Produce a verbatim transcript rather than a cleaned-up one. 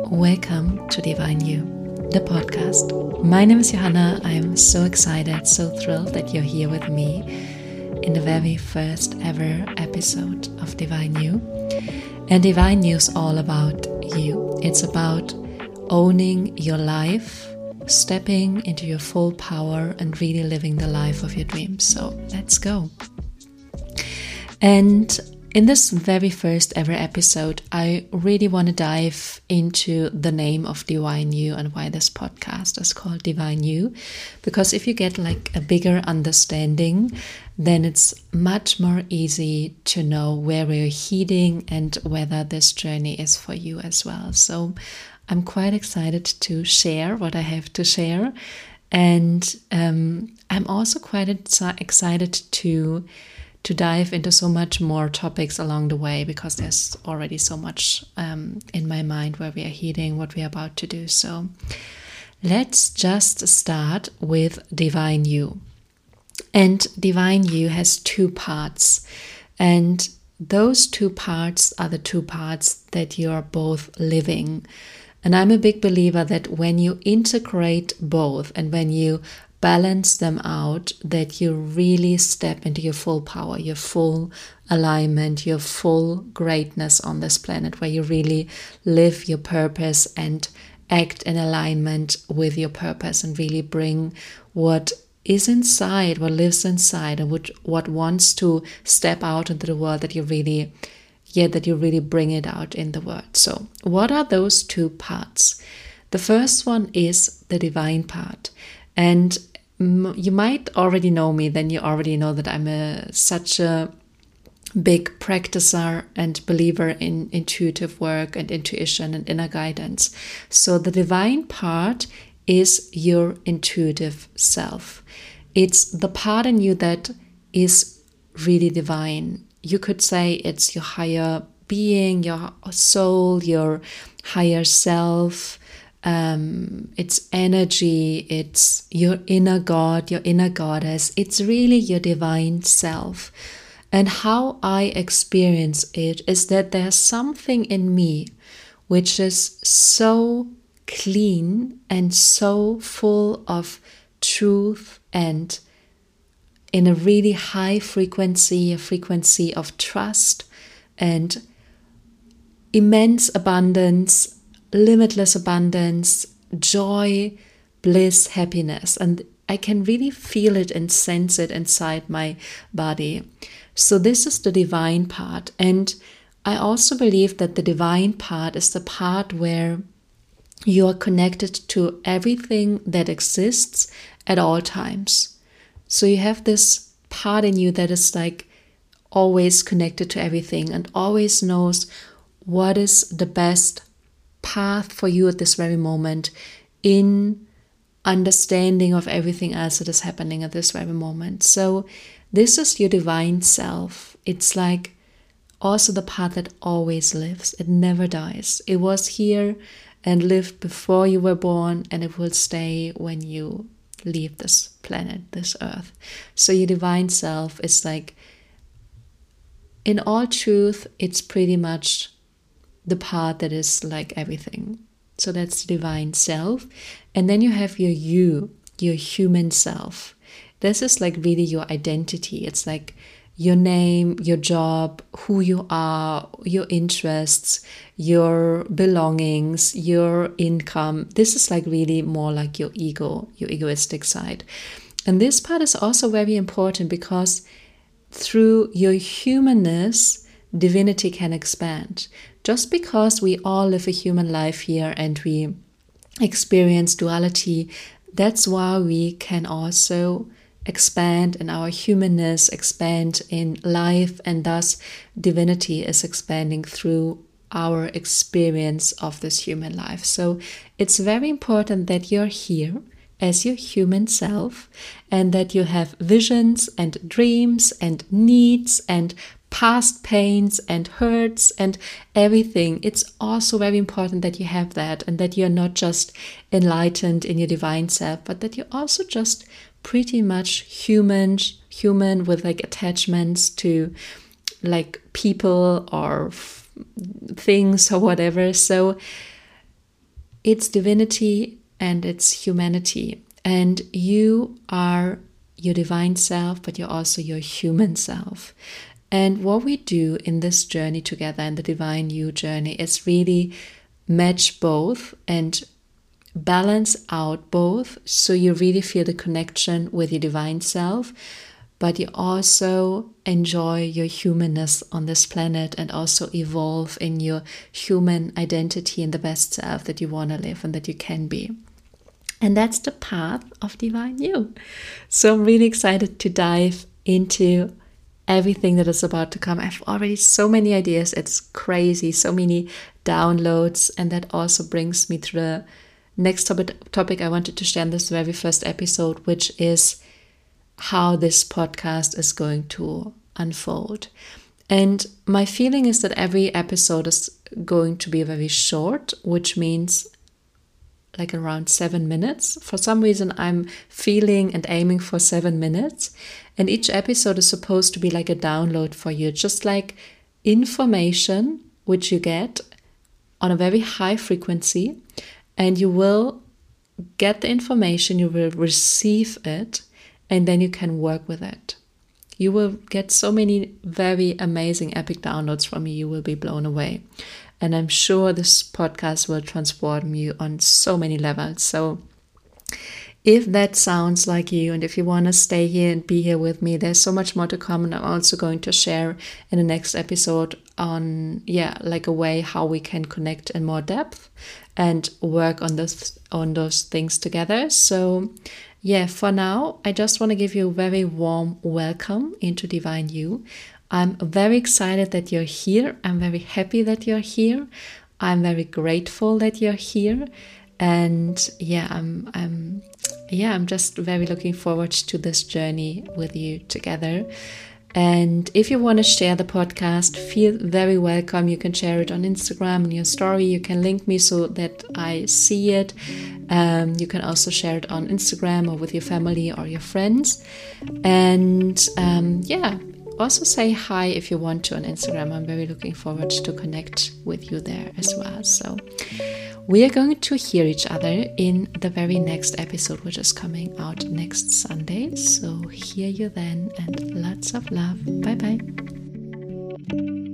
Welcome to Divine You, the podcast. My name is Johanna. I'm so excited, so thrilled that you're here with me in the very first ever episode of Divine You. And Divine You is all about you. It's about owning your life, stepping into your full power and really living the life of your dreams. So let's go. And in this very first ever episode, I really want to dive into the name of Divine You and why this podcast is called Divine You. Because if you get like a bigger understanding, then it's much more easy to know where we're heading and whether this journey is for you as well. So I'm quite excited to share what I have to share. And um, I'm also quite excited to to dive into so much more topics along the way, because there's already so much um, in my mind where we are heading, what we are about to do. So let's just start with Divine You. And Divine You has two parts. And those two parts are the two parts that you are both living. And I'm a big believer that when you integrate both and when you balance them out, that you really step into your full power, your full alignment, your full greatness on this planet, where you really live your purpose and act in alignment with your purpose and really bring what is inside, what lives inside, and what, what wants to step out into the world, that you really, yeah, that you really bring it out in the world. So what are those two parts? The first one is the divine part. And you might already know me, then you already know that I'm a, such a big practicer and believer in intuitive work and intuition and inner guidance. So the divine part is your intuitive self. It's the part in you that is really divine. You could say it's your higher being, your soul, your higher self. Um, it's energy, it's your inner God, your inner goddess. It's really your divine self. And how I experience it is that there's something in me which is so clean and so full of truth, and in a really high frequency, a frequency of trust and immense abundance, limitless abundance, joy, bliss, happiness. And I can really feel it and sense it inside my body. So this is the divine part. And I also believe that the divine part is the part where you are connected to everything that exists at all times. So you have this part in you that is like always connected to everything and always knows what is the best path for you at this very moment, in understanding of everything else that is happening at this very moment. So this is your divine self. It's like also the part that always lives. It never dies. It was here and lived before you were born, and it will stay when you leave this planet, this earth. So your divine self is like, in all truth, it's pretty much the part that is like everything. So that's the divine self. And then you have your you, your human self. This is like really your identity. It's like your name, your job, who you are, your interests, your belongings, your income. This is like really more like your ego, your egoistic side. And this part is also very important, because through your humanness, divinity can expand. Just because we all live a human life here and we experience duality, that's why we can also expand in our humanness, expand in life, and thus divinity is expanding through our experience of this human life. So it's very important that you're here as your human self, and that you have visions and dreams and needs and past pains and hurts and everything. It's also very important that you have that, and that you're not just enlightened in your divine self, but that you're also just pretty much human, human with like attachments to like people or f- things or whatever. So it's divinity and it's humanity. And you are your divine self, but you're also your human self. And what we do in this journey together, in the Divine You journey, is really match both and balance out both, so you really feel the connection with your divine self, but you also enjoy your humanness on this planet and also evolve in your human identity and the best self that you want to live and that you can be. And that's the path of Divine You. So I'm really excited to dive into everything that is about to come. I have already so many ideas. It's crazy, so many downloads. And that also brings me to the next topic, topic I wanted to share in this very first episode, which is how this podcast is going to unfold. And my feeling is that every episode is going to be very short, which means like around seven minutes. For some reason, I'm feeling and aiming for seven minutes. And each episode is supposed to be like a download for you, just like information which you get on a very high frequency. And you will get the information, you will receive it, and then you can work with it. You will get so many very amazing epic downloads from me. You will be blown away. And I'm sure this podcast will transform you on so many levels. So if that sounds like you, and if you want to stay here and be here with me, there's so much more to come. And I'm also going to share in the next episode on, yeah, like a way how we can connect in more depth and work on this, on those things together. So yeah, for now, I just want to give you a very warm welcome into Divine You. I'm very excited that you're here. I'm very happy that you're here. I'm very grateful that you're here. And yeah, I'm I'm yeah, I'm just very looking forward to this journey with you together. And if you want to share the podcast, feel very welcome. You can share it on Instagram in your story. You can link me so that I see it. Um, you can also share it on Instagram or with your family or your friends. And um, yeah, also say hi if you want to on Instagram. I'm very looking forward to connect with you there as well. So we are going to hear each other in the very next episode, which is coming out next Sunday. So hear you then, and lots of love. Bye bye.